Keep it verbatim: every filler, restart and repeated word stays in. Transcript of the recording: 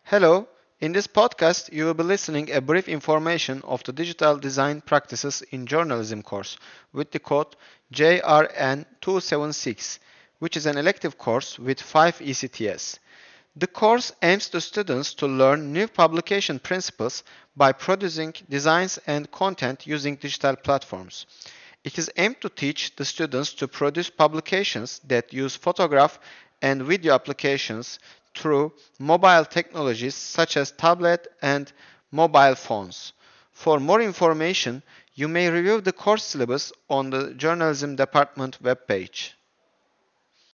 Hello, in this podcast you will be listening a brief information of the Digital Design Practices in Journalism course with the code J R N two seven six, which is an elective course with five E C T S. The course aims the students to learn new publication principles by producing designs and content using digital platforms. It is aimed to teach the students to produce publications that use photograph and video applications through mobile technologies such as tablet and mobile phones. For more information, you may review the course syllabus on the Journalism Department webpage.